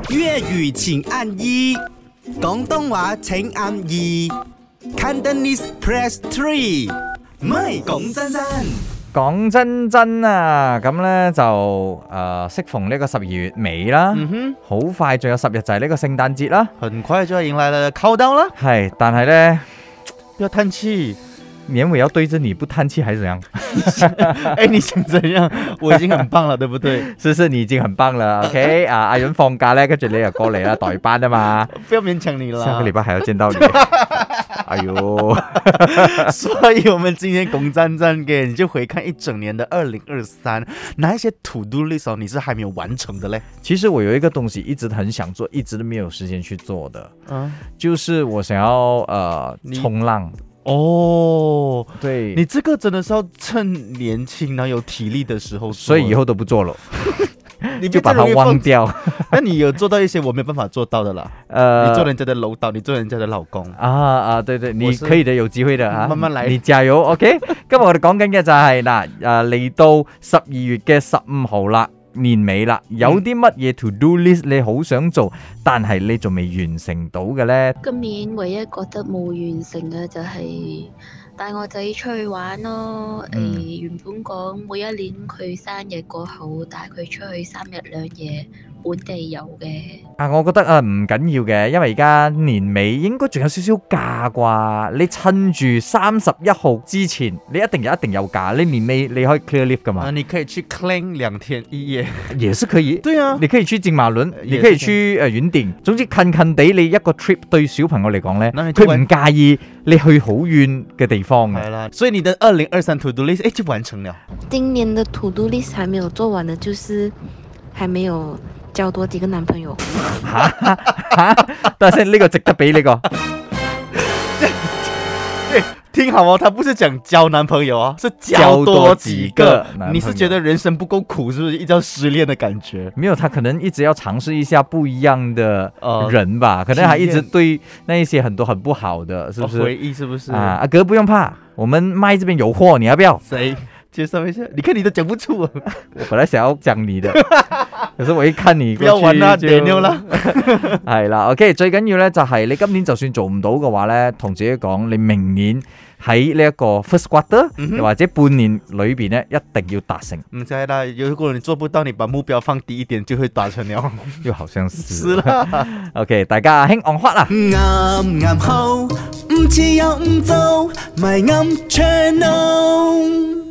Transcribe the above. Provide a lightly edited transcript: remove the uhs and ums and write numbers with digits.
粵語請按1，廣東話請按2 ，Cantonese press 3。唔係講真真。 講真真啊，咁呢就適逢呢個12月尾啦，好快仲有10日就係呢個聖誕節啦， 很快就要迎來了countdown啦。 係，但係呢， 不要嘆氣。 年尾要對着你不嘆氣還是怎樣？ 哎，你想怎樣？我已經很棒了，對不對？ 是，你已經很棒了。OK 啊，阿潤放假呢，跟住你又過嚟啦，代班啊嘛。 不要勉強你了。 下個禮拜還要見到你。哎呦， 所以我們今天講真真嘅，你就回看一整年的2023，哪一些 to do list 哦，你是還沒有完成的嘞？ 其實我有一個東西一直很想做，一直都沒有時間去做的，就是我想要衝浪。 哦， 對， 你這個真的是要趁年輕然後有體力的時候做， 所以以後都不做了。 你就把它忘掉。 那你有做到一些我沒辦法做到的啦。你做人家的樓導，你做人家的老公。對， 你可以的，有機會的啊， 慢慢來， 你加油。OK， 今日我哋講緊嘅就係嚟到12月嘅15號啦，年尾啦，有啲乜嘢 to do list 你好想做，但係你仲未完成到嘅呢？ 今年唯一覺得冇完成嘅就係帶我仔出去玩咯。原本講每一年佢生日過後帶佢出去3日2夜本地遊嘅。 我覺得唔緊要嘅，因為而家年尾應該仲有少少假啩。你趁住31號之前，你一定有假。你年尾你可以 clear leave 噶嘛？ 你可以去 claim 2天1夜， 也是可以。 對啊， 你可以去金馬倫，你可以去遠定。總之近地你一個 trip 對小朋友嚟講呢，佢唔介意你去好遠嘅地方嘅。 係啦，所以你的2023 to do list 就完成了。 今年的 to do list 還沒有做完的，就是還沒有交多幾個男朋友。 但係呢個值得俾呢個。 聽好哦，他不是講交男朋友哦，是交多幾個。你是覺得人生不夠苦，是不是？一直要失戀的感覺？ 沒有，他可能一直要嘗試一下不一樣的人吧，可能還一直對那一些很多很不好的，是不是？ 回憶是不是？ 阿哥不用怕，我們麥這邊有貨，你要不要？ 誰？介紹一下。你看你都講不出。我本來想要講你的，可是我一看你不要玩啦，Daniel啦。 係啦，OK， 最緊要咧就係你今年就算做唔到嘅話咧，同自己講，你明年喺呢一個 first quarter，又或者半年裏邊咧，一定要達成。 唔知啦，如果你做不到，你把目標放低一點，就會達成了。 又好像是。 是啦。 OK， 大家興 on hot 啦。 啱好，唔似又唔做，咪啱 channel。